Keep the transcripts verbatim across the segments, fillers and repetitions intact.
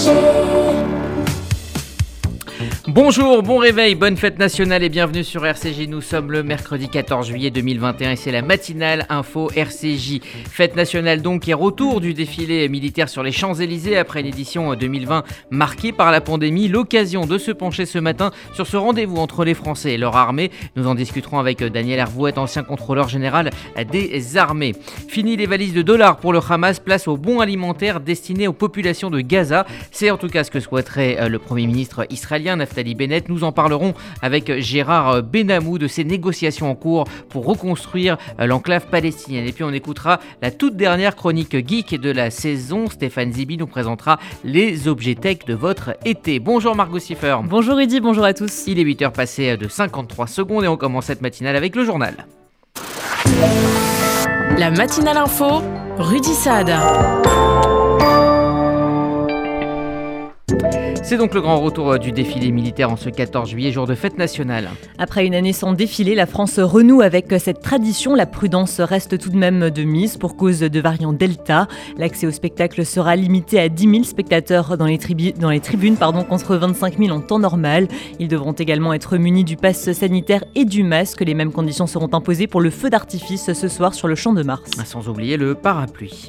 Bonjour, bon réveil, bonne fête nationale et bienvenue sur R C J. Nous sommes le mercredi quatorze juillet deux mille vingt et un et c'est la matinale info R C J. Fête nationale donc et retour du défilé militaire sur les Champs-Élysées après une édition deux mille vingt marquée par la pandémie. L'occasion de se pencher ce matin sur ce rendez-vous entre les Français et leur armée. Nous en discuterons avec Daniel Hervouet, ancien contrôleur général des armées. Fini les valises de dollars pour le Hamas, place aux bons alimentaires destinés aux populations de Gaza. C'est en tout cas ce que souhaiterait le Premier ministre israélien Naftali Bennett. Nous en parlerons avec Gérard Benamou de ces négociations en cours pour reconstruire l'enclave palestinienne. Et puis on écoutera la toute dernière chronique geek de la saison. Stéphane Zibi nous présentera les objets tech de votre été. Bonjour Margot Siffer. Bonjour Rudy, bonjour à tous. Il est huit heures passées de cinquante-trois secondes et on commence cette matinale avec le journal. La matinale info, Rudy Saad. C'est donc le grand retour du défilé militaire en ce quatorze juillet, jour de fête nationale. Après une année sans défilé, la France renoue avec cette tradition. La prudence reste tout de même de mise pour cause de variant Delta. L'accès au spectacle sera limité à dix mille spectateurs dans les, tribu- dans les tribunes pardon, contre vingt-cinq mille en temps normal. Ils devront également être munis du pass sanitaire et du masque. Les mêmes conditions seront imposées pour le feu d'artifice ce soir sur le Champ de Mars. Sans oublier le parapluie.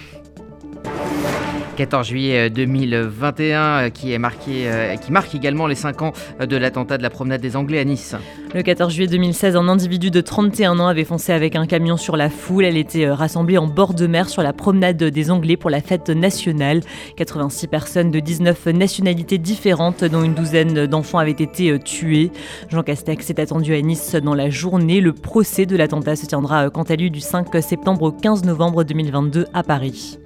quatorze juillet deux mille vingt et un qui, est marqué, euh, qui marque également les cinq ans de l'attentat de la promenade des Anglais à Nice. Le quatorze juillet deux mille seize, un individu de trente et un ans avait foncé avec un camion sur la foule. Elle était rassemblée en bord de mer sur la promenade des Anglais pour la fête nationale. quatre-vingt-six personnes de dix-neuf nationalités différentes, dont une douzaine d'enfants avaient été tués. Jean Castex est attendu à Nice dans la journée. Le procès de l'attentat se tiendra quant à lui du cinq septembre au quinze novembre deux mille vingt-deux à Paris.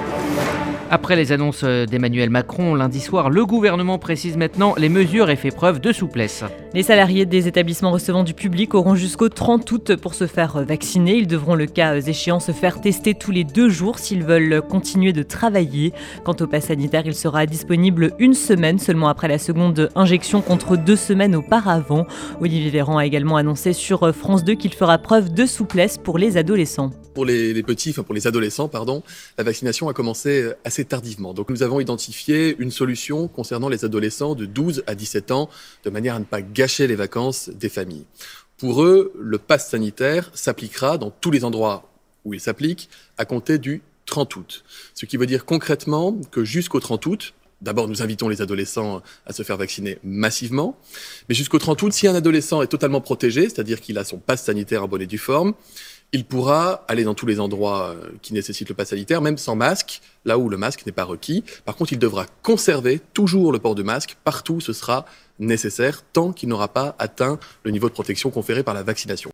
Après les annonces d'Emmanuel Macron lundi soir, le gouvernement précise maintenant les mesures et fait preuve de souplesse. Les salariés des établissements recevant du public auront jusqu'au trente août pour se faire vacciner. Ils devront le cas échéant se faire tester tous les deux jours s'ils veulent continuer de travailler. Quant au pass sanitaire, il sera disponible une semaine seulement après la seconde injection contre deux semaines auparavant. Olivier Véran a également annoncé sur France deux qu'il fera preuve de souplesse pour les adolescents. Pour les, les petits, enfin pour les adolescents, pardon, la vaccination a commencé assez tardivement. Donc nous avons identifié une solution concernant les adolescents de douze à dix-sept ans, de manière à ne pas gâcher les vacances des familles. Pour eux, le pass sanitaire s'appliquera dans tous les endroits où il s'applique à compter du trente août. Ce qui veut dire concrètement que jusqu'au trente août, d'abord, nous invitons les adolescents à se faire vacciner massivement. Mais jusqu'au trente août, si un adolescent est totalement protégé, c'est-à-dire qu'il a son pass sanitaire en bonne et due forme, il pourra aller dans tous les endroits qui nécessitent le pass sanitaire, même sans masque, là où le masque n'est pas requis. Par contre, il devra conserver toujours le port de masque partout où ce sera nécessaire, tant qu'il n'aura pas atteint le niveau de protection conféré par la vaccination.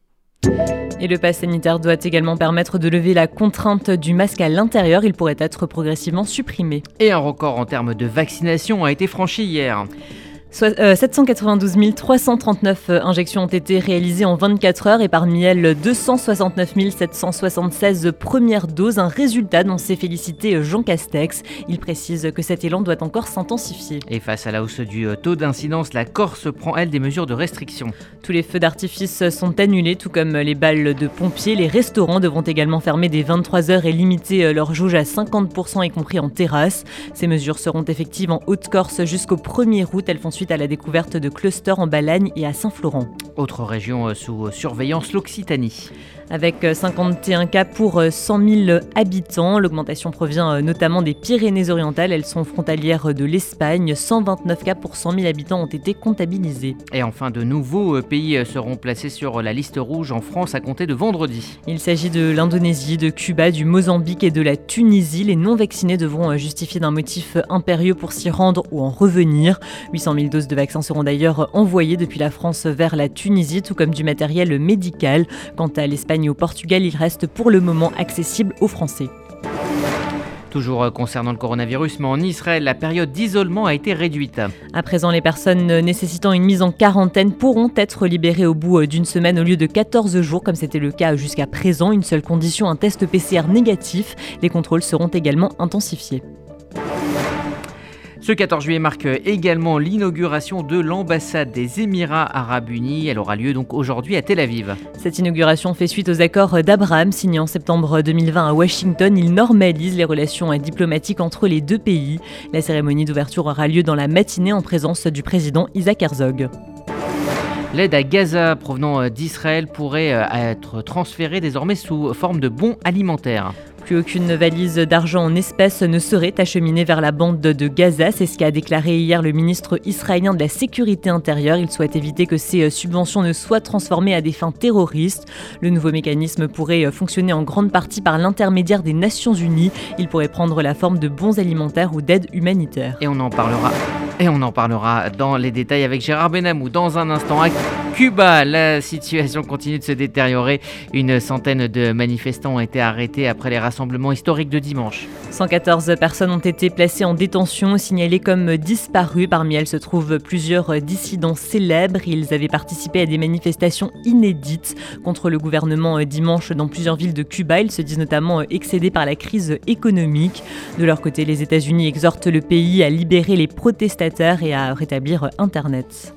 Et le pass sanitaire doit également permettre de lever la contrainte du masque à l'intérieur. Il pourrait être progressivement supprimé. Et un record en termes de vaccination a été franchi hier. Soit, euh, sept cent quatre-vingt-douze mille trois cent trente-neuf injections ont été réalisées en vingt-quatre heures et parmi elles deux cent soixante-neuf mille sept cent soixante-seize premières doses, un résultat dont s'est félicité Jean Castex. Il précise que cet élan doit encore s'intensifier. Et face à la hausse du taux d'incidence, la Corse prend elle des mesures de restriction. Tous les feux d'artifice sont annulés, tout comme les balles de pompiers. Les restaurants devront également fermer dès vingt-trois heures et limiter leur jauge à cinquante pour cent, y compris en terrasse. Ces mesures seront effectives en Haute-Corse jusqu'au premier août. Elles font suite à la découverte de clusters en Balagne et à Saint-Florent. Autre région sous surveillance, l'Occitanie. Avec cinquante et un cas pour cent mille habitants, l'augmentation provient notamment des Pyrénées-Orientales. Elles sont frontalières de l'Espagne. cent vingt-neuf cas pour cent mille habitants ont été comptabilisés. Et enfin, de nouveaux pays seront placés sur la liste rouge en France à compter de vendredi. Il s'agit de l'Indonésie, de Cuba, du Mozambique et de la Tunisie. Les non-vaccinés devront justifier d'un motif impérieux pour s'y rendre ou en revenir. huit cent mille doses de vaccins seront d'ailleurs envoyées depuis la France vers la Tunisie, tout comme du matériel médical. Quant à l'Espagne et au Portugal, il reste pour le moment accessible aux Français. Toujours concernant le coronavirus, mais en Israël, la période d'isolement a été réduite. À présent, les personnes nécessitant une mise en quarantaine pourront être libérées au bout d'une semaine au lieu de quatorze jours, comme c'était le cas jusqu'à présent. Une seule condition, un test P C R négatif. Les contrôles seront également intensifiés. Ce quatorze juillet marque également l'inauguration de l'ambassade des Émirats Arabes Unis. Elle aura lieu donc aujourd'hui à Tel Aviv. Cette inauguration fait suite aux accords d'Abraham signés en septembre deux mille vingt à Washington. Il normalise les relations diplomatiques entre les deux pays. La cérémonie d'ouverture aura lieu dans la matinée en présence du président Isaac Herzog. L'aide à Gaza provenant d'Israël pourrait être transférée désormais sous forme de bons alimentaires. Plus aucune valise d'argent en espèces ne serait acheminée vers la bande de Gaza. C'est ce qu'a déclaré hier le ministre israélien de la Sécurité intérieure. Il souhaite éviter que ces subventions ne soient transformées à des fins terroristes. Le nouveau mécanisme pourrait fonctionner en grande partie par l'intermédiaire des Nations Unies. Il pourrait prendre la forme de bons alimentaires ou d'aide humanitaire. Et on en parlera. Et on en parlera dans les détails avec Gérard Benamou dans un instant. À Cuba, la situation continue de se détériorer. Une centaine de manifestants ont été arrêtés après les rassemblements historiques de dimanche. cent quatorze personnes ont été placées en détention, signalées comme disparues. Parmi elles se trouvent plusieurs dissidents célèbres. Ils avaient participé à des manifestations inédites contre le gouvernement dimanche dans plusieurs villes de Cuba. Ils se disent notamment excédés par la crise économique. De leur côté, les États-Unis exhortent le pays à libérer les protestataires et à rétablir Internet.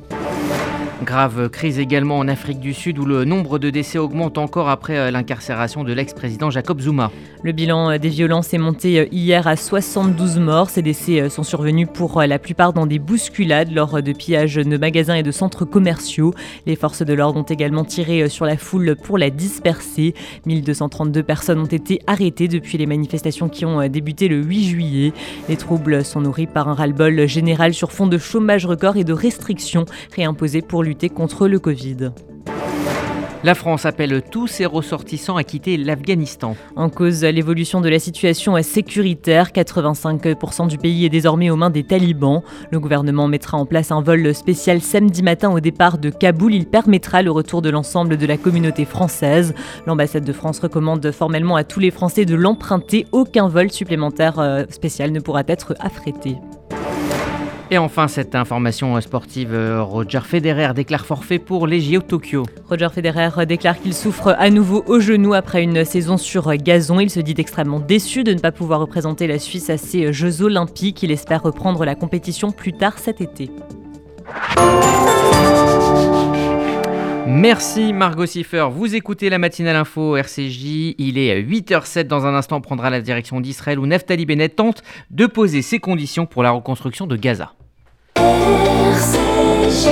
Grave crise également en Afrique du Sud où le nombre de décès augmente encore après l'incarcération de l'ex-président Jacob Zuma. Le bilan des violences est monté hier à soixante-douze morts. Ces décès sont survenus pour la plupart dans des bousculades lors de pillages de magasins et de centres commerciaux. Les forces de l'ordre ont également tiré sur la foule pour la disperser. mille deux cent trente-deux personnes ont été arrêtées depuis les manifestations qui ont débuté le huit juillet. Les troubles sont nourris par un ras-le-bol général sur fond de chômage record et de restrictions réimposées pour lutter contre le Covid. La France appelle tous ses ressortissants à quitter l'Afghanistan. En cause, l'évolution de la situation sécuritaire. quatre-vingt-cinq pour cent du pays est désormais aux mains des talibans. Le gouvernement mettra en place un vol spécial samedi matin au départ de Kaboul. Il permettra le retour de l'ensemble de la communauté française. L'ambassade de France recommande formellement à tous les Français de l'emprunter. Aucun vol supplémentaire spécial ne pourra être affrété. Et enfin, cette information sportive, Roger Federer déclare forfait pour les J O Tokyo. Roger Federer déclare qu'il souffre à nouveau au genou après une saison sur gazon. Il se dit extrêmement déçu de ne pas pouvoir représenter la Suisse à ces Jeux Olympiques. Il espère reprendre la compétition plus tard cet été. Merci Margot Siffer. Vous écoutez la matinale info R C J. Il est huit heures zéro sept. Dans un instant, on prendra la direction d'Israël où Naftali Bennett tente de poser ses conditions pour la reconstruction de Gaza. R C J.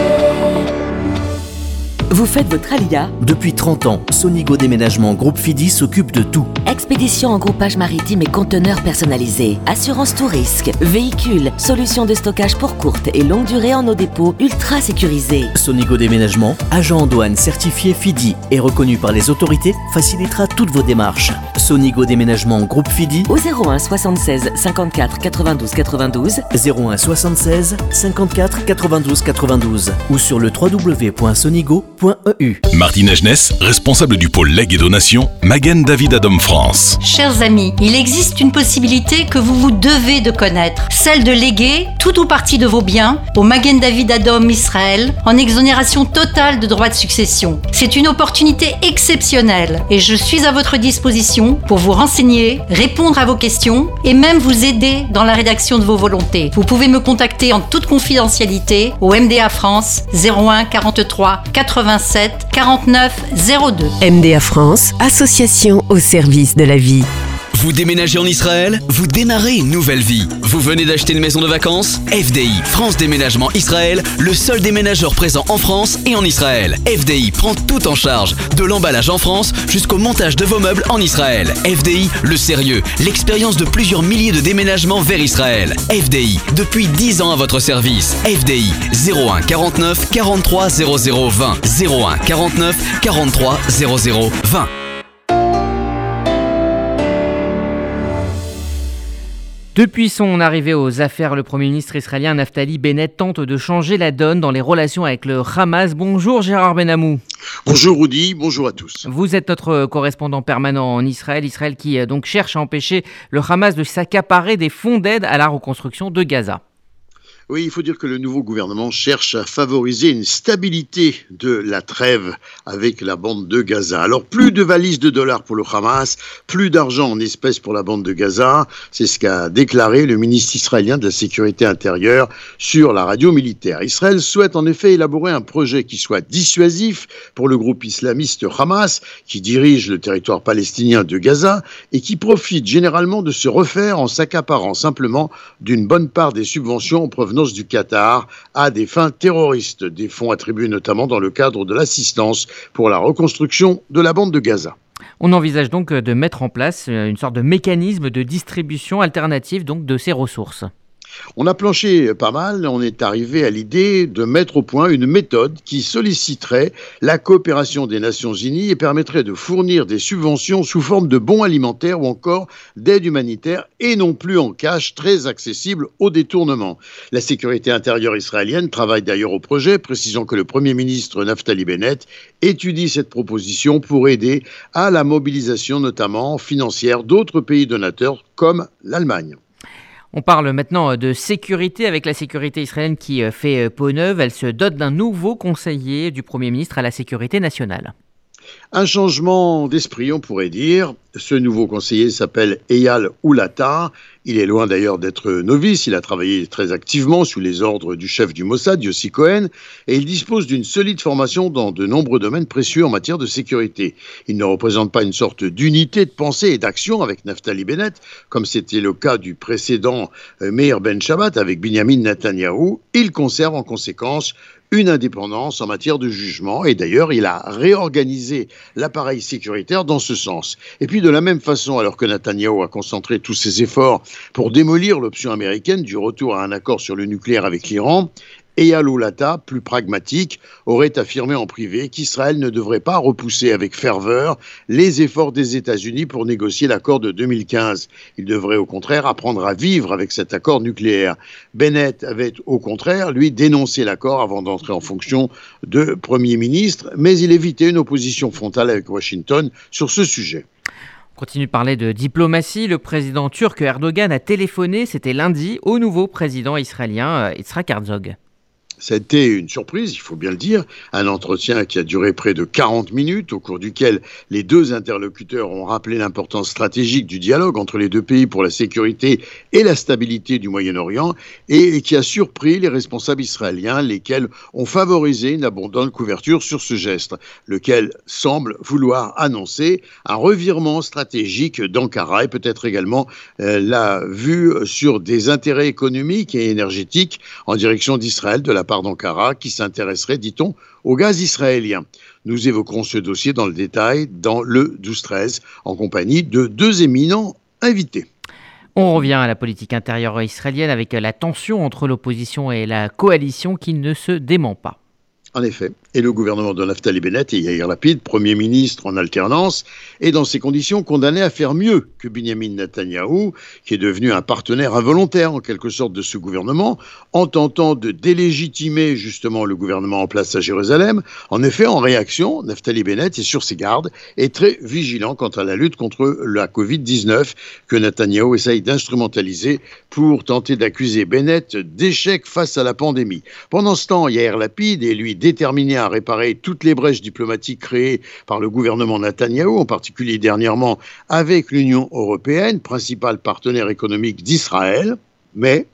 Vous faites votre alia? Depuis trente ans, Sonigo Déménagement Groupe Fidi s'occupe de tout. Expédition en groupage maritime et conteneurs personnalisés, assurance tout risque, véhicules, solutions de stockage pour courte et longue durée en nos dépôts ultra sécurisés. Sonigo Déménagement, agent en douane certifié Fidi et reconnu par les autorités, facilitera toutes vos démarches. Sonigo Déménagement Groupe Fidi au zéro un soixante-seize cinquante-quatre quatre-vingt-douze quatre-vingt-douze, zéro un soixante-seize cinquante-quatre quatre-vingt-douze quatre-vingt-douze ou sur le w w w point sonigo point e u. Martine Agenès, responsable du pôle legs et donation, Magen David Adom France. Chers amis, il existe une possibilité que vous vous devez de connaître, celle de léguer tout ou partie de vos biens au Magen David Adom Israël en exonération totale de droits de succession. C'est une opportunité exceptionnelle et je suis à votre disposition pour vous renseigner, répondre à vos questions et même vous aider dans la rédaction de vos volontés. Vous pouvez me contacter en toute confidentialité au M D A France zéro un quarante-trois quatre-vingt-sept quarante-neuf zéro deux. M D A France, association au service de la vie. Vous déménagez en Israël? Vous démarrez une nouvelle vie. Vous venez d'acheter une maison de vacances? F D I, France Déménagement Israël, le seul déménageur présent en France et en Israël. F D I prend tout en charge, de l'emballage en France jusqu'au montage de vos meubles en Israël. F D I, le sérieux, l'expérience de plusieurs milliers de déménagements vers Israël. F D I, depuis dix ans à votre service. F D I, zéro un quarante-neuf quarante-trois zéro zéro vingt, zéro un quarante-neuf quarante-trois zéro zéro vingt. Depuis son arrivée aux affaires, le Premier ministre israélien Naftali Bennett tente de changer la donne dans les relations avec le Hamas. Bonjour Gérard Benamou. Bonjour Rudy, bonjour à tous. Vous êtes notre correspondant permanent en Israël, Israël qui donc cherche à empêcher le Hamas de s'accaparer des fonds d'aide à la reconstruction de Gaza. Oui, il faut dire que le nouveau gouvernement cherche à favoriser une stabilité de la trêve avec la bande de Gaza. Alors, plus de valises de dollars pour le Hamas, plus d'argent en espèces pour la bande de Gaza. C'est ce qu'a déclaré le ministre israélien de la Sécurité intérieure sur la radio militaire. Israël souhaite en effet élaborer un projet qui soit dissuasif pour le groupe islamiste Hamas, qui dirige le territoire palestinien de Gaza et qui profite généralement de se refaire en s'accaparant simplement d'une bonne part des subventions en provenance du Qatar à des fins terroristes, des fonds attribués notamment dans le cadre de l'assistance pour la reconstruction de la bande de Gaza. On envisage donc de mettre en place une sorte de mécanisme de distribution alternative donc de ces ressources. On a planché pas mal, on est arrivé à l'idée de mettre au point une méthode qui solliciterait la coopération des Nations Unies et permettrait de fournir des subventions sous forme de bons alimentaires ou encore d'aide humanitaire et non plus en cash, très accessible au détournement. La sécurité intérieure israélienne travaille d'ailleurs au projet, précisant que le Premier ministre Naftali Bennett étudie cette proposition pour aider à la mobilisation notamment financière d'autres pays donateurs comme l'Allemagne. On parle maintenant de sécurité avec la sécurité israélienne qui fait peau neuve. Elle se dote d'un nouveau conseiller du Premier ministre à la sécurité nationale. Un changement d'esprit, on pourrait dire. Ce nouveau conseiller s'appelle Eyal Oulata. Il est loin d'ailleurs d'être novice. Il a travaillé très activement sous les ordres du chef du Mossad, Yossi Cohen, et il dispose d'une solide formation dans de nombreux domaines précieux en matière de sécurité. Il ne représente pas une sorte d'unité de pensée et d'action avec Naftali Bennett, comme c'était le cas du précédent Meir Ben Shabbat avec Binyamin Netanyahou. Il conserve en conséquence une indépendance en matière de jugement et d'ailleurs il a réorganisé l'appareil sécuritaire dans ce sens. Et puis de la même façon, alors que Netanyahou a concentré tous ses efforts pour démolir l'option américaine du retour à un accord sur le nucléaire avec l'Iran, Eyal Oulata, plus pragmatique, aurait affirmé en privé qu'Israël ne devrait pas repousser avec ferveur les efforts des États-Unis pour négocier l'accord de deux mille quinze. Il devrait au contraire apprendre à vivre avec cet accord nucléaire. Bennett avait au contraire, lui, dénoncé l'accord avant d'entrer en fonction de Premier ministre, mais il évitait une opposition frontale avec Washington sur ce sujet. On continue de parler de diplomatie. Le président turc Erdogan a téléphoné, c'était lundi, au nouveau président israélien Yitzhak Herzog. C'était une surprise, il faut bien le dire, un entretien qui a duré près de quarante minutes, au cours duquel les deux interlocuteurs ont rappelé l'importance stratégique du dialogue entre les deux pays pour la sécurité et la stabilité du Moyen-Orient, et qui a surpris les responsables israéliens, lesquels ont favorisé une abondante couverture sur ce geste, lequel semble vouloir annoncer un revirement stratégique d'Ankara et peut-être également euh, la vue sur des intérêts économiques et énergétiques en direction d'Israël de la part d'Ankara qui s'intéresserait, dit-on, au gaz israélien. Nous évoquerons ce dossier dans le détail dans le douze treize en compagnie de deux éminents invités. On revient à la politique intérieure israélienne avec la tension entre l'opposition et la coalition qui ne se dément pas. En effet, et le gouvernement de Naftali Bennett et Yair Lapid, Premier ministre en alternance, est dans ces conditions condamné à faire mieux que Binyamin Netanyahou, qui est devenu un partenaire involontaire en quelque sorte de ce gouvernement, en tentant de délégitimer justement le gouvernement en place à Jérusalem. En effet, en réaction, Naftali Bennett est sur ses gardes et très vigilant quant à la lutte contre la covid dix-neuf que Netanyahou essaye d'instrumentaliser pour tenter d'accuser Bennett d'échec face à la pandémie. Pendant ce temps, Yair Lapid est lui déterminé à réparer toutes les brèches diplomatiques créées par le gouvernement Netanyahou, en particulier dernièrement avec l'Union européenne, principal partenaire économique d'Israël, mais...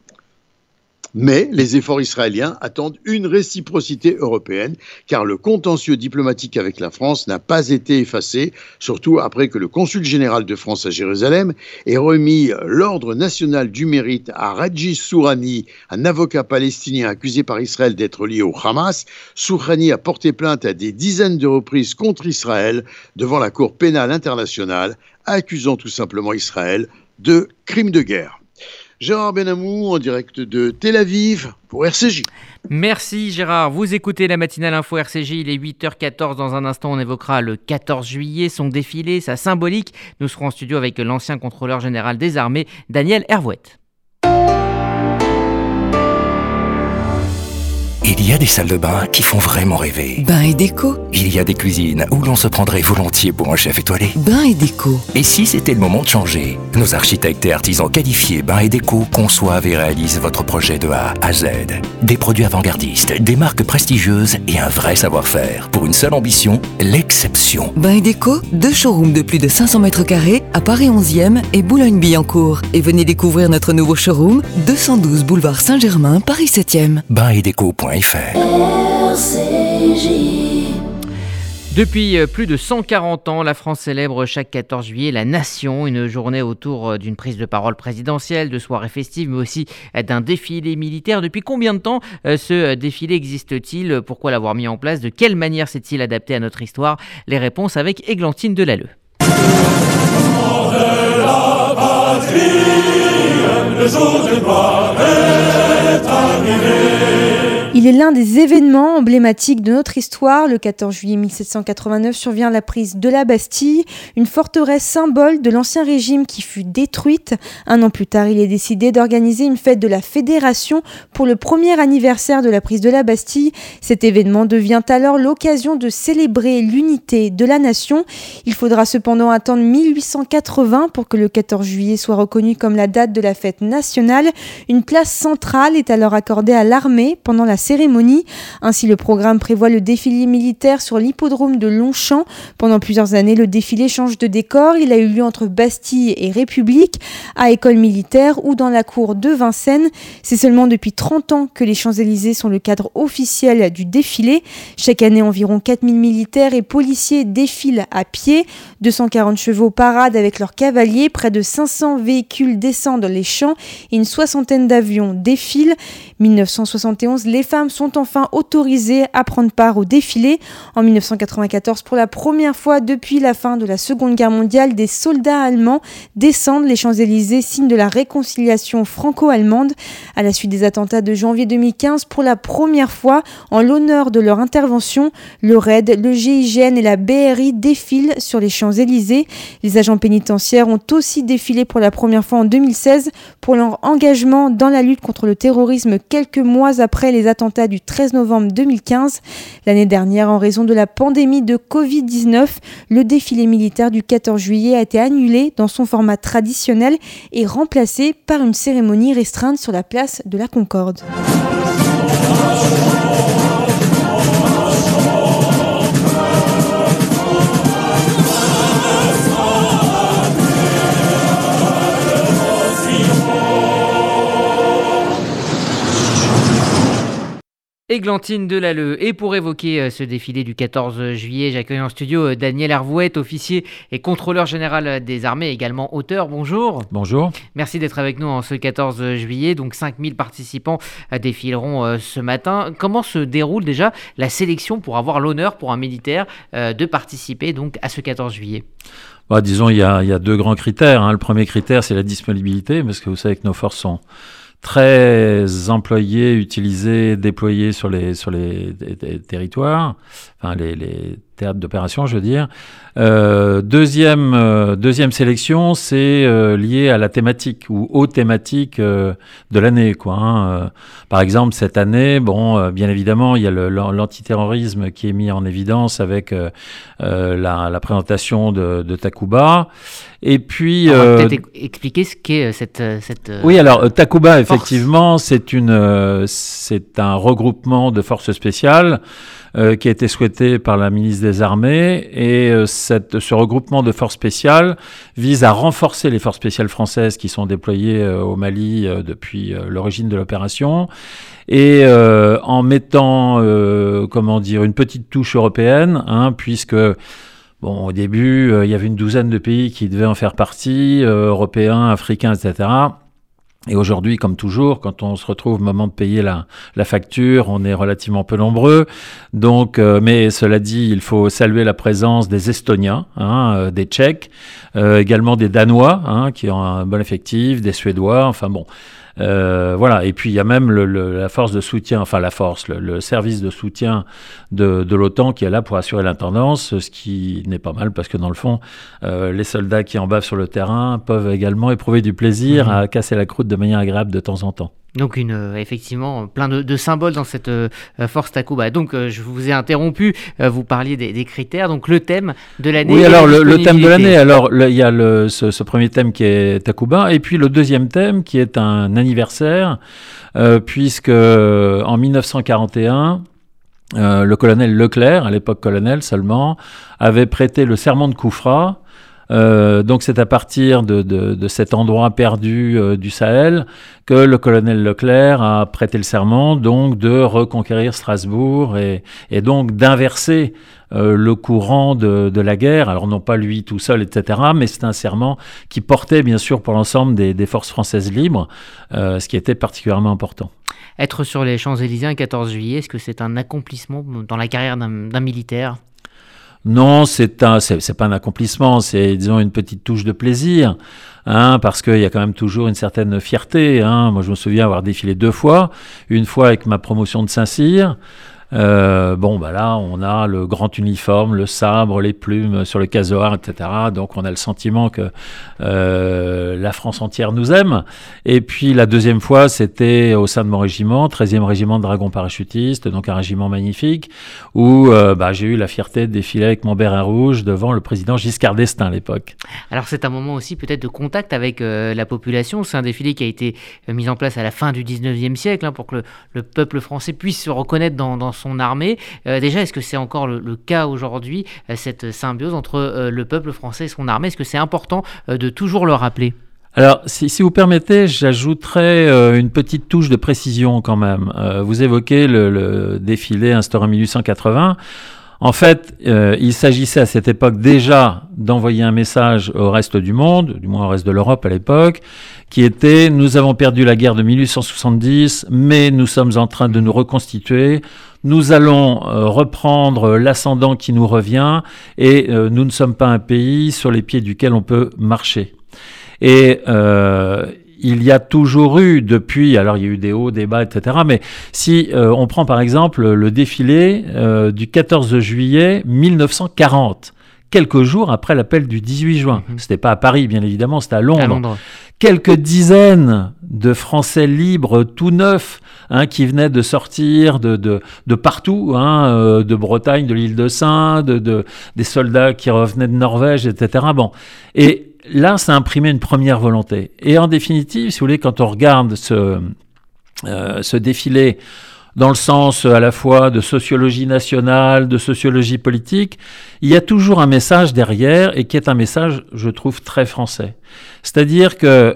Mais les efforts israéliens attendent une réciprocité européenne, car le contentieux diplomatique avec la France n'a pas été effacé, surtout après que le consul général de France à Jérusalem ait remis l'ordre national du mérite à Raji Sourani, un avocat palestinien accusé par Israël d'être lié au Hamas. Sourani a porté plainte à des dizaines de reprises contre Israël devant la Cour pénale internationale, accusant tout simplement Israël de crimes de guerre. Gérard Benamou en direct de Tel Aviv pour R C J. Merci Gérard. Vous écoutez la matinale info R C J, il est huit heures quatorze. Dans un instant, on évoquera le quatorze juillet, son défilé, sa symbolique. Nous serons en studio avec l'ancien contrôleur général des armées, Daniel Hervouet. Il y a des salles de bain qui font vraiment rêver. Bain et déco. Il y a des cuisines où l'on se prendrait volontiers pour un chef étoilé. Bain et déco. Et si c'était le moment de changer? Nos architectes et artisans qualifiés Bain et Déco conçoivent et réalisent votre projet de A à Z. Des produits avant-gardistes, des marques prestigieuses et un vrai savoir-faire. Pour une seule ambition, l'exception. Bain et déco, deux showrooms de plus de cinq cents mètres carrés à Paris onzième et Boulogne-Billancourt. Et venez découvrir notre nouveau showroom, deux cent douze boulevard Saint-Germain, Paris septième. bain et déco point f r. R C J. Depuis plus de cent quarante ans, la France célèbre chaque quatorze juillet la Nation, une journée autour d'une prise de parole présidentielle, de soirées festives, mais aussi d'un défilé militaire. Depuis combien de temps ce défilé existe-t-il? Pourquoi l'avoir mis en place? De quelle manière s'est-il adapté à notre histoire? Les réponses avec Églantine Delalleux. Le jour de gloire est arrivé. Il est l'un des événements emblématiques de notre histoire. Le quatorze juillet mille sept cent quatre-vingt-neuf survient la prise de la Bastille, une forteresse symbole de l'Ancien Régime qui fut détruite. Un an plus tard, il est décidé d'organiser une fête de la Fédération pour le premier anniversaire de la prise de la Bastille. Cet événement devient alors l'occasion de célébrer l'unité de la nation. Il faudra cependant attendre mille huit cent quatre-vingts pour que le quatorze juillet soit reconnu comme la date de la fête nationale. Une place centrale est alors accordée à l'armée pendant la cérémonie. Ainsi, le programme prévoit le défilé militaire sur l'hippodrome de Longchamp. Pendant plusieurs années, le défilé change de décor. Il a eu lieu entre Bastille et République, à École militaire ou dans la cour de Vincennes. C'est seulement depuis trente ans que les Champs-Élysées sont le cadre officiel du défilé. Chaque année, environ quatre mille militaires et policiers défilent à pied. deux cent quarante chevaux paradent avec leurs cavaliers. Près de cinq cents véhicules descendent les champs et une soixantaine d'avions défilent. mille neuf cent soixante et onze, les femmes sont enfin autorisées à prendre part au défilé. En mille neuf cent quatre-vingt-quatorze, pour la première fois depuis la fin de la Seconde Guerre mondiale, des soldats allemands descendent les Champs-Élysées, signe de la réconciliation franco-allemande. À la suite des attentats de janvier deux mille quinze, pour la première fois, en l'honneur de leur intervention, le R A I D, le G I G N et la B R I défilent sur les Champs-Élysées. Les agents pénitentiaires ont aussi défilé pour la première fois en deux mille seize pour leur engagement dans la lutte contre le terrorisme quelques mois après les attentats du treize novembre deux mille quinze. L'année dernière, en raison de la pandémie de covid dix-neuf, le défilé militaire du quatorze juillet a été annulé dans son format traditionnel et remplacé par une cérémonie restreinte sur la place de la Concorde. Églantine Delalleux. Et pour évoquer ce défilé du quatorze juillet, j'accueille en studio Daniel Hervouet, officier et contrôleur général des armées, également auteur. Bonjour. Bonjour. Merci d'être avec nous en ce quatorze juillet. Donc cinq mille participants défileront ce matin. Comment se déroule déjà la sélection pour avoir l'honneur pour un militaire de participer donc à ce quatorze juillet? Bah, disons, il y a, il y a deux grands critères, hein. Le premier critère, c'est la disponibilité, parce que vous savez que nos forces sont très employés, utilisés, déployés sur les sur les, les, les territoires, enfin les, les théâtres d'opération, je veux dire. Euh, deuxième euh, deuxième sélection, c'est euh, lié à la thématique ou aux thématiques euh, de l'année, quoi. Hein. Euh, par exemple, cette année, bon, euh, bien évidemment, il y a le, l'antiterrorisme qui est mis en évidence avec euh, euh, la, la présentation de, de Takuba. Et puis, on va euh, peut-être expliquer ce qu'est cette cette. Oui, alors Takuba, effectivement, c'est une euh, c'est un regroupement de forces spéciales euh, qui a été souhaité par la ministre des Armées, et euh, cette ce regroupement de forces spéciales vise à renforcer les forces spéciales françaises qui sont déployées euh, au Mali euh, depuis euh, l'origine de l'opération, et euh, en mettant euh, comment dire une petite touche européenne, hein, puisque bon, au début, euh, il y avait une douzaine de pays qui devaient en faire partie, euh, européens, africains, et cetera. Et aujourd'hui, comme toujours, quand on se retrouve au moment de payer la, la facture, on est relativement peu nombreux. Donc, euh, mais cela dit, il faut saluer la présence des Estoniens, hein, euh, des Tchèques, euh, également des Danois, hein, qui ont un bon effectif, des Suédois, enfin bon. Euh, voilà, et puis il y a même le, le, la force de soutien, enfin la force, le, le service de soutien de, de l'OTAN qui est là pour assurer l'intendance, ce qui n'est pas mal parce que dans le fond, euh, les soldats qui en bavent sur le terrain peuvent également éprouver du plaisir mmh. à casser la croûte de manière agréable de temps en temps. Donc une, euh, effectivement plein de, de symboles dans cette euh, force Takuba. Donc euh, je vous ai interrompu, euh, vous parliez des, des critères, donc le thème de l'année. Oui, alors le, le thème de l'année, alors il y a le, ce, ce premier thème qui est Takuba, et puis le deuxième thème qui est un anniversaire, euh, puisque en mille neuf cent quarante et un, euh, le colonel Leclerc, à l'époque colonel seulement, avait prêté le serment de Koufra. Euh, donc c'est à partir de, de, de cet endroit perdu euh, du Sahel que le colonel Leclerc a prêté le serment donc de reconquérir Strasbourg et, et donc d'inverser euh, le courant de, de la guerre. Alors non pas lui tout seul, et cetera, mais c'est un serment qui portait bien sûr pour l'ensemble des, des forces françaises libres, euh, ce qui était particulièrement important. Être sur les Champs-Élysées un quatorze juillet, est-ce que c'est un accomplissement dans la carrière d'un, d'un militaire ? Non, c'est un, c'est, c'est pas un accomplissement, c'est disons une petite touche de plaisir, hein, parce qu'il y a quand même toujours une certaine fierté. Hein. Moi, je me souviens avoir défilé deux fois, une fois avec ma promotion de Saint-Cyr. Euh, bon, bah là, on a le grand uniforme, le sabre, les plumes sur le casoar, et cetera. Donc, on a le sentiment que euh, la France entière nous aime. Et puis, la deuxième fois, c'était au sein de mon régiment, treizième régiment de dragons parachutistes, donc un régiment magnifique, où euh, bah, j'ai eu la fierté de défiler avec mon béret rouge devant le président Giscard d'Estaing à l'époque. Alors, c'est un moment aussi peut-être de contact avec euh, la population. C'est un défilé qui a été euh, mis en place à la fin du dix-neuvième siècle, hein, pour que le, le peuple français puisse se reconnaître dans, dans son armée. Euh, déjà, est-ce que c'est encore le, le cas aujourd'hui, euh, cette symbiose entre euh, le peuple français et son armée ? Est-ce que c'est important euh, de toujours le rappeler ? Alors, si, si vous permettez, j'ajouterais euh, une petite touche de précision quand même. Euh, vous évoquez le, le défilé instauré en mille huit cent quatre-vingts. En fait, euh, il s'agissait à cette époque déjà d'envoyer un message au reste du monde, du moins au reste de l'Europe à l'époque, qui était « Nous avons perdu la guerre de mille huit cent soixante-dix, mais nous sommes en train de nous reconstituer. Nous allons euh, reprendre l'ascendant qui nous revient et euh, nous ne sommes pas un pays sur les pieds duquel on peut marcher. » Et euh, il y a toujours eu depuis, alors il y a eu des hauts, des bas, et cetera, mais si euh, on prend par exemple le défilé euh, du quatorze juillet mille neuf cent quarante, quelques jours après l'appel du dix-huit juin. Mmh. C'était pas à Paris, bien évidemment, c'était à Londres. À Londres. Quelques dizaines de Français libres, tout neufs, hein, qui venaient de sortir de, de, de partout, hein, euh, de Bretagne, de l'île de Sein, de, de, des soldats qui revenaient de Norvège, et cetera. Bon. Et là, ça a imprimé une première volonté. Et en définitive, si vous voulez, quand on regarde ce, euh, ce défilé dans le sens à la fois de sociologie nationale, de sociologie politique, il y a toujours un message derrière et qui est un message, je trouve, très français. C'est-à-dire que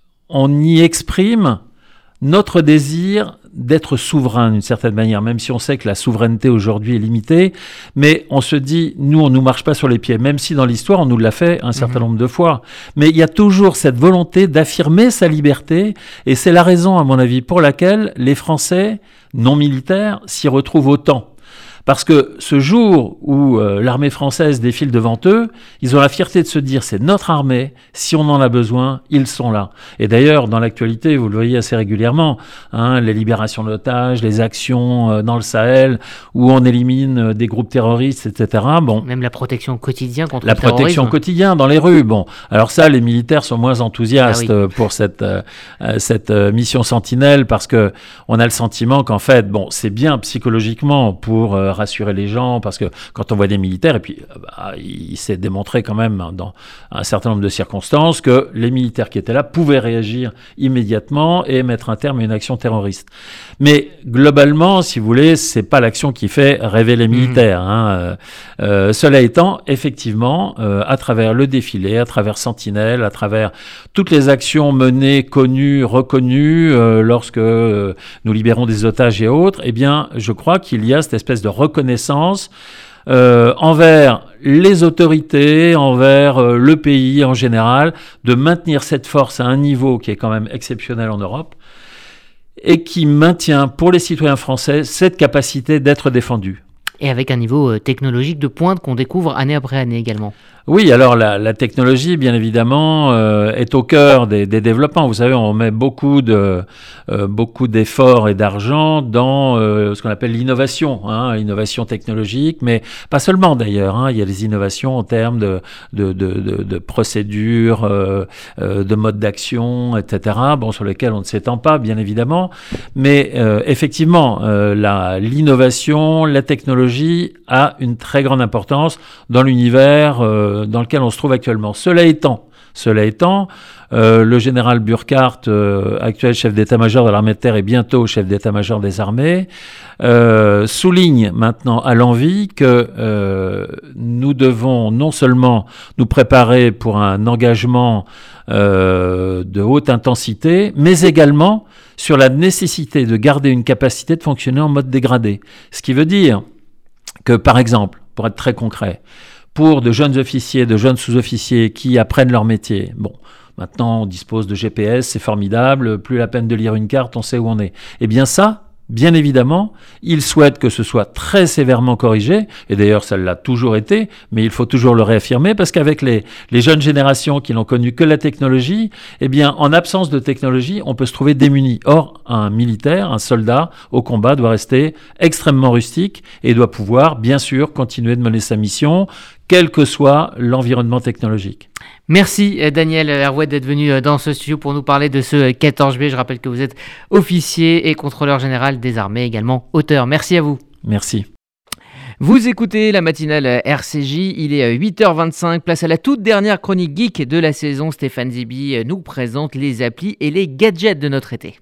on y exprime notre désir d'être souverain d'une certaine manière, même si on sait que la souveraineté aujourd'hui est limitée, mais on se dit, nous, on ne nous marche pas sur les pieds, même si dans l'histoire, on nous l'a fait un certain mmh. nombre de fois. Mais il y a toujours cette volonté d'affirmer sa liberté, et c'est la raison, à mon avis, pour laquelle les Français non militaires s'y retrouvent autant. Parce que ce jour où euh, l'armée française défile devant eux, ils ont la fierté de se dire c'est notre armée, si on en a besoin, ils sont là. Et d'ailleurs, dans l'actualité, vous le voyez assez régulièrement, hein, les libérations d'otages, les actions euh, dans le Sahel, où on élimine euh, des groupes terroristes, et cetera. Bon, même la protection au quotidien contre la le terrorisme. La protection au quotidien dans les rues. Bon, alors ça, les militaires sont moins enthousiastes ah oui. pour cette, euh, cette euh, mission sentinelle, parce que on a le sentiment qu'en fait, bon, c'est bien psychologiquement pour euh, rassurer les gens, parce que quand on voit des militaires, et puis bah, il s'est démontré quand même dans un certain nombre de circonstances que les militaires qui étaient là pouvaient réagir immédiatement et mettre un terme à une action terroriste. Mais globalement, si vous voulez, c'est pas l'action qui fait rêver les militaires. Mmh. Hein. Euh, cela étant, effectivement, euh, à travers le défilé, à travers Sentinelle, à travers toutes les actions menées, connues, reconnues, euh, lorsque euh, nous libérons des otages et autres, eh bien, je crois qu'il y a cette espèce de reconnaissance euh, envers les autorités, envers euh, le pays en général, de maintenir cette force à un niveau qui est quand même exceptionnel en Europe et qui maintient pour les citoyens français cette capacité d'être défendus. et avec un niveau technologique de pointe qu'on découvre année après année également. Oui, alors la, la technologie, bien évidemment, euh, est au cœur des, des développements. Vous savez, on met beaucoup de euh, beaucoup d'efforts et d'argent dans euh, ce qu'on appelle l'innovation, hein, l'innovation technologique, mais pas seulement d'ailleurs. Hein, il y a des innovations en termes de de de, de, de procédures, euh, euh, de modes d'action, et cetera. Bon, sur lesquels on ne s'étend pas, bien évidemment, mais euh, effectivement, euh, la l'innovation, la technologie a une très grande importance dans l'univers euh, dans lequel on se trouve actuellement. Cela étant, cela étant, euh, le général Burkhardt, euh, actuel chef d'état-major de l'armée de terre et bientôt chef d'état-major des armées, euh, souligne maintenant à l'envi que euh, nous devons non seulement nous préparer pour un engagement euh, de haute intensité, mais également sur la nécessité de garder une capacité de fonctionner en mode dégradé. Ce qui veut dire que, par exemple, pour être très concret, pour de jeunes officiers, de jeunes sous-officiers qui apprennent leur métier. Bon, maintenant on dispose de G P S, c'est formidable, plus la peine de lire une carte, on sait où on est. Eh bien ça, bien évidemment, ils souhaitent que ce soit très sévèrement corrigé, et d'ailleurs ça l'a toujours été, mais il faut toujours le réaffirmer, parce qu'avec les, les jeunes générations qui n'ont connu que la technologie, eh bien en absence de technologie, on peut se trouver démuni. Or, un militaire, un soldat au combat doit rester extrêmement rustique et doit pouvoir, bien sûr, continuer de mener sa mission, quel que soit l'environnement technologique. Merci Daniel Hervouet d'être venu dans ce studio pour nous parler de ce quatorze juillet. Je rappelle que vous êtes officier et contrôleur général des armées, également auteur. Merci à vous. Merci. Vous écoutez la matinale R C J, il est huit heures vingt-cinq, place à la toute dernière chronique geek de la saison. Stéphane Zibi nous présente les applis et les gadgets de notre été.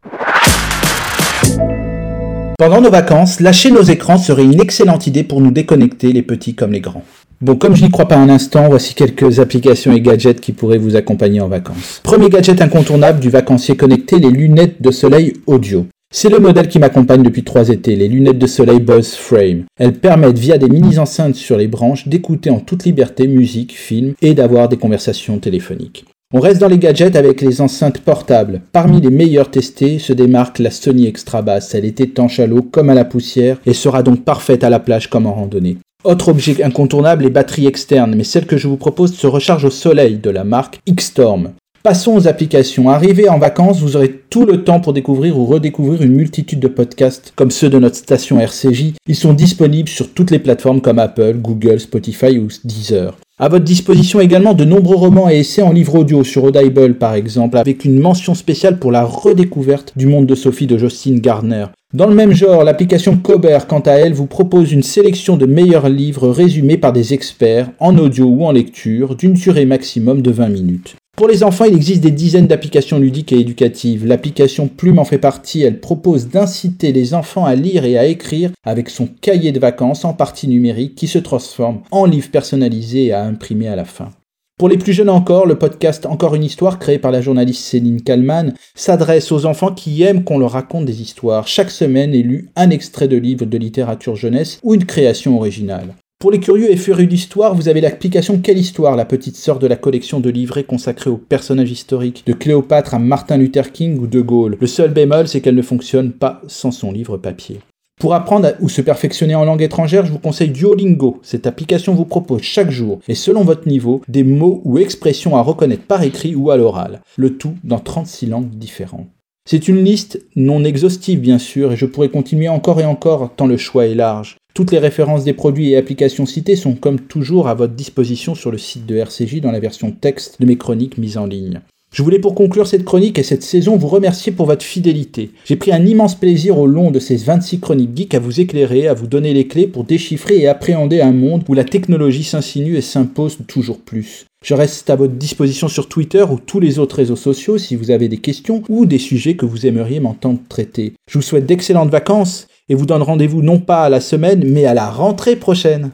Pendant nos vacances, lâcher nos écrans serait une excellente idée pour nous déconnecter, les petits comme les grands. Bon, comme je n'y crois pas un instant, voici quelques applications et gadgets qui pourraient vous accompagner en vacances. Premier gadget incontournable du vacancier connecté, les lunettes de soleil audio. C'est le modèle qui m'accompagne depuis trois étés, les lunettes de soleil Bose Frame. Elles permettent, via des mini-enceintes sur les branches, d'écouter en toute liberté musique, films et d'avoir des conversations téléphoniques. On reste dans les gadgets avec les enceintes portables. Parmi les meilleures testées se démarque la Sony Extra Bass. Elle est étanche à l'eau comme à la poussière et sera donc parfaite à la plage comme en randonnée. Autre objet incontournable, les batteries externes, mais celle que je vous propose se recharge au soleil de la marque X-Storm. Passons aux applications. Arrivé en vacances, vous aurez tout le temps pour découvrir ou redécouvrir une multitude de podcasts comme ceux de notre station R C J. Ils sont disponibles sur toutes les plateformes comme Apple, Google, Spotify ou Deezer. À votre disposition également de nombreux romans et essais en livre audio sur Audible par exemple, avec une mention spéciale pour la redécouverte du monde de Sophie de Jocelyn Gardner. Dans le même genre, l'application Kober, quant à elle, vous propose une sélection de meilleurs livres résumés par des experts, en audio ou en lecture, d'une durée maximum de vingt minutes. Pour les enfants, il existe des dizaines d'applications ludiques et éducatives. L'application Plume en fait partie. Elle propose d'inciter les enfants à lire et à écrire avec son cahier de vacances en partie numérique qui se transforme en livre personnalisé et à imprimer à la fin. Pour les plus jeunes encore, le podcast Encore une histoire, créé par la journaliste Céline Kallmann, s'adresse aux enfants qui aiment qu'on leur raconte des histoires. Chaque semaine est lu un extrait de livre de littérature jeunesse ou une création originale. Pour les curieux et férus d'histoire, vous avez l'application Quelle Histoire, la petite sœur de la collection de livrets consacrés aux personnages historiques, de Cléopâtre à Martin Luther King ou De Gaulle. Le seul bémol, c'est qu'elle ne fonctionne pas sans son livre papier. Pour apprendre ou se perfectionner en langue étrangère, je vous conseille Duolingo. Cette application vous propose chaque jour, et selon votre niveau, des mots ou expressions à reconnaître par écrit ou à l'oral. Le tout dans trente-six langues différentes. C'est une liste non exhaustive bien sûr, et je pourrais continuer encore et encore tant le choix est large. Toutes les références des produits et applications cités sont comme toujours à votre disposition sur le site de R C J dans la version texte de mes chroniques mises en ligne. Je voulais pour conclure cette chronique et cette saison vous remercier pour votre fidélité. J'ai pris un immense plaisir au long de ces vingt-six chroniques geeks à vous éclairer, à vous donner les clés pour déchiffrer et appréhender un monde où la technologie s'insinue et s'impose toujours plus. Je reste à votre disposition sur Twitter ou tous les autres réseaux sociaux si vous avez des questions ou des sujets que vous aimeriez m'entendre traiter. Je vous souhaite d'excellentes vacances et vous donne rendez-vous non pas à la semaine mais à la rentrée prochaine.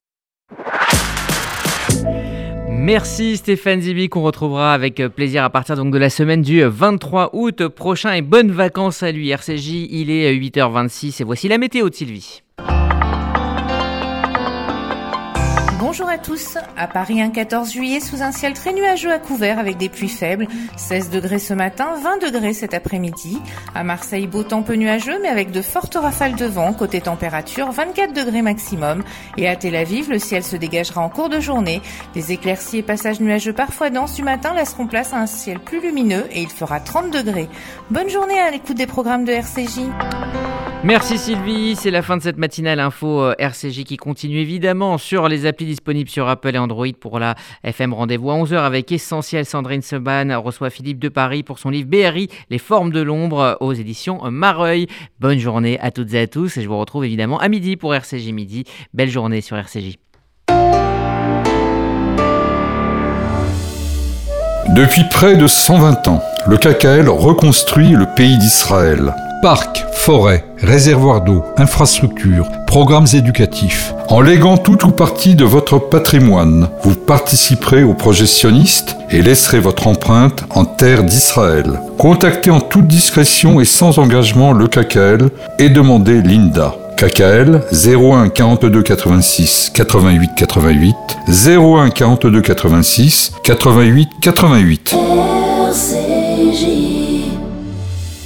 Merci Stéphane Zibi qu'on retrouvera avec plaisir à partir donc de la semaine du vingt-trois août prochain et bonnes vacances à lui. R C J, il est huit heures vingt-six et voici la météo de Sylvie. Bonjour à tous. À Paris, un quatorze juillet sous un ciel très nuageux à couvert avec des pluies faibles. seize degrés ce matin, vingt degrés cet après-midi. À Marseille, beau temps peu nuageux mais avec de fortes rafales de vent. Côté température, vingt-quatre degrés maximum. Et à Tel Aviv, le ciel se dégagera en cours de journée. Des éclaircies et passages nuageux parfois denses du matin laisseront place à un ciel plus lumineux et il fera trente degrés. Bonne journée à l'écoute des programmes de R C J. Merci Sylvie, c'est la fin de cette matinale info R C J qui continue évidemment sur les applis disponibles sur Apple et Android pour la F M. Rendez-vous à onze heures avec Essentiel. Sandrine Seban reçoit Philippe de Paris pour son livre B R I, Les formes de l'ombre aux éditions Mareuil. Bonne journée à toutes et à tous et je vous retrouve évidemment à midi pour R C J Midi. Belle journée sur R C J. Depuis près de cent vingt ans, le K K L reconstruit le pays d'Israël. Parcs, forêts, réservoirs d'eau, infrastructures, programmes éducatifs. En léguant tout ou partie de votre patrimoine, vous participerez au projet sioniste et laisserez votre empreinte en terre d'Israël. Contactez en toute discrétion et sans engagement le K K L et demandez Linda. K K L zéro un quarante-deux quatre-vingt-six quatre-vingt-huit quatre-vingt-huit zéro un quarante-deux quatre-vingt-six quatre-vingt-huit quatre-vingt-huit. R C J